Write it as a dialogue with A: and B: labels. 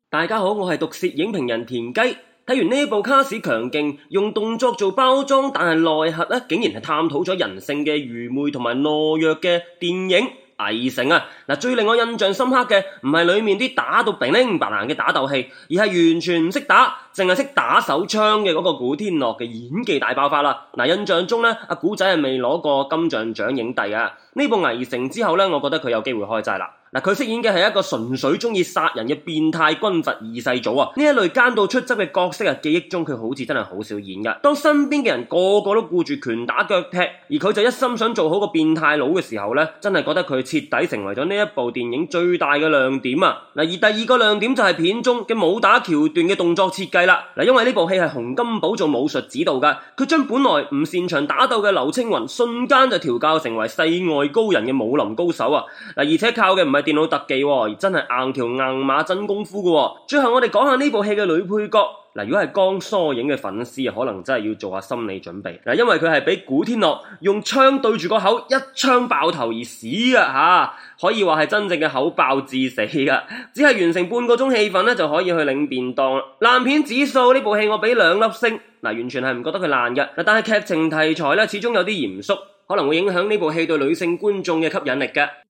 A: 大家好，我係毒舌影評人田雞。睇完呢部卡士強勁，用動作做包裝，但係內核咧竟然係探討咗人性嘅愚昧同埋懦弱嘅電影《危城》啊！最令我印象深刻嘅唔係裏面啲打到乒鈴白爛嘅打鬥戲，而係完全唔識打，淨係識打手槍嘅嗰個古天樂嘅演技大爆發啦！印象中咧，阿古仔係未攞過金像獎影帝啊！呢部《危城》之後咧，我覺得佢有機會開齋啦。佢飾演嘅係一個純粹中意殺人嘅變態軍閥二世祖啊！呢一類奸到出汁嘅角色記憶中佢好似真係好少演㗎。當身邊嘅人個個都顧住拳打腳踢，而佢就一心想做好個變態佬嘅時候呢，真係覺得佢徹底成為咗呢一部電影最大嘅亮點啊！而第二個亮點就係片中嘅武打橋段嘅動作設計啦。因為呢部戲係洪金寶做武術指導㗎，佢將本來唔擅長打鬥嘅劉青雲瞬間就調教成為世外高人嘅武林高手啊！而且靠嘅唔係電腦特技，而真係硬橋硬馬真功夫嘅。最後我哋講下呢部戲嘅女配角。如果係江疏影嘅粉絲可能真係要做下心理準備。因為佢係俾古天樂用槍對住個口一槍爆頭而死嘅可以話係真正嘅口爆致死嘅。只係完成半個鐘戲份就可以去領便當。爛片指數呢部戲我俾2粒星，完全係唔覺得佢爛嘅。但係劇情題材始終有啲嚴肅，可能會影響呢部戲對女性觀眾嘅吸引力嘅。